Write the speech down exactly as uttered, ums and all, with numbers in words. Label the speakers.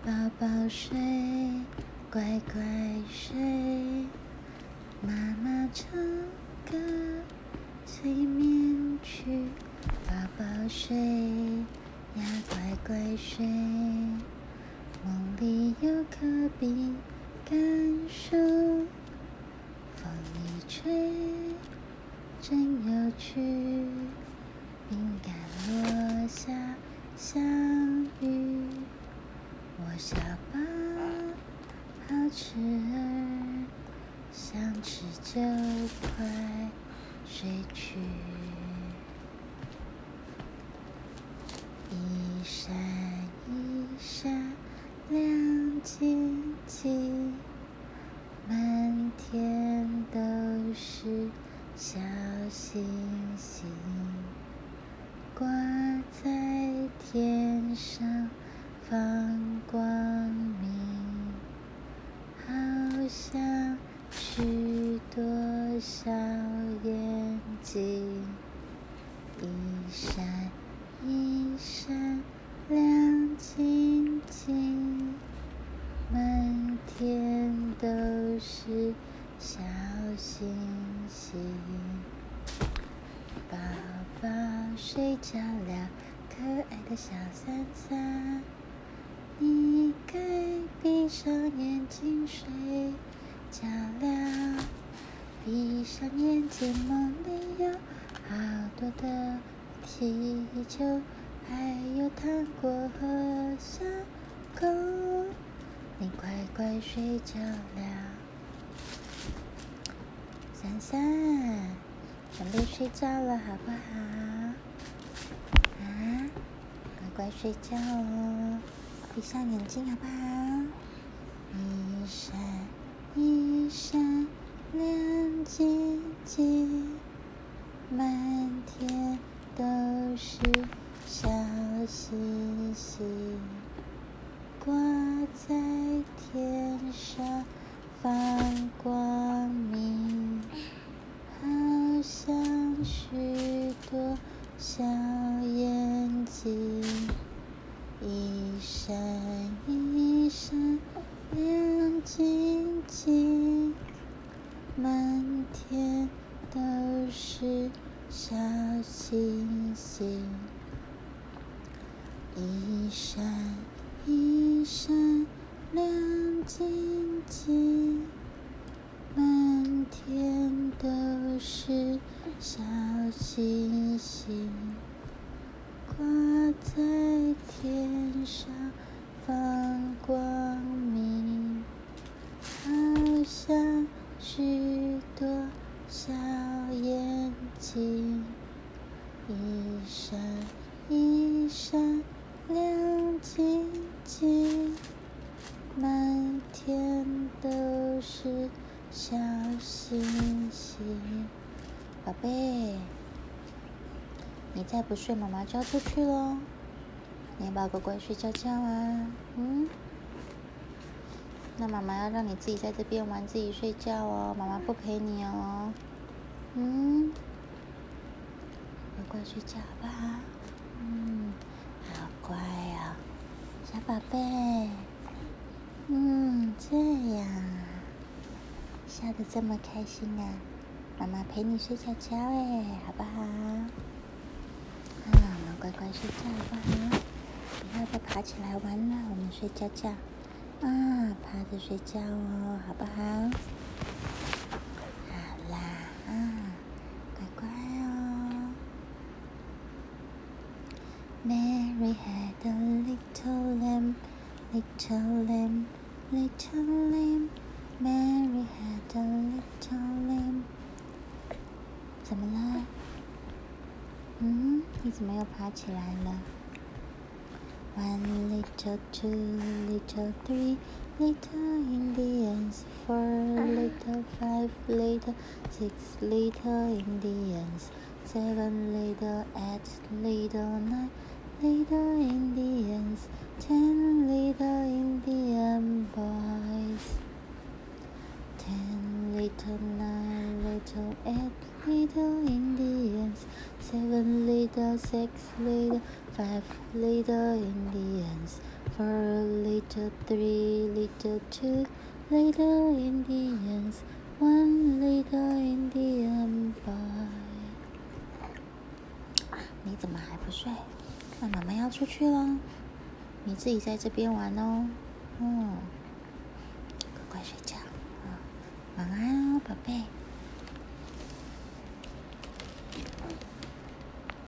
Speaker 1: 宝宝睡，乖乖睡，妈妈唱歌催眠曲。宝宝睡呀，乖乖睡，梦里有可比感受，风一吹真有趣，饼干落下像雨，我小宝好吃儿，想吃就快睡去。一闪一闪亮晶晶，满天都是小星星，挂在天上放光明，好像许多小眼睛，一闪一闪亮晶晶，满天都是小星星。宝宝睡着了，可爱的小伞伞，你该闭上眼睛睡觉了。闭上眼睛，梦里有好多的气球，还有糖果和小狗，你乖乖睡觉了。伞伞，准备睡觉了好不好？啊，乖乖睡觉哦，闭上眼睛好不好？一闪一闪亮晶晶，满天都是小星星，挂在天上放光明，好像许多小眼睛，一闪一闪亮晶晶，满天都是小星星，一闪一闪亮晶晶，满天都是小星星，挂在天上放光明，好像许多小眼睛，一闪一闪亮晶晶，满天都是小星星。宝贝，你再不睡，妈妈就要出去咯。你要不要乖乖睡觉觉啊？嗯？那妈妈要让你自己在这边玩，自己睡觉哦，妈妈不陪你哦。嗯？乖乖睡觉好不好？嗯，好乖哦，小宝贝。嗯，这样笑得这么开心啊！妈妈陪你睡觉觉哎，好不好？啊，我们乖乖睡觉好不好？不要再爬起来玩了，我们睡觉觉。啊，趴着睡觉哦，好不好？好啦，啊，乖乖哦。Mary had a little lamb, little lamb, little lamb. Mary had a little lamb. 怎么了？嗯，你怎么又爬起来了？ One little, two little, three little Indians, four little, five little, six little Indians, seven little, eight little, nine little Indians, ten little Indian boys, ten little, nine little, eight little Indians, seven little, little, six little, five little Indians, four little, three little, two little Indians, one little Indian boy。你怎么还不睡？那妈妈要出去了，你自己在这边玩哦。哦，快快睡觉啊，晚安哦，宝贝。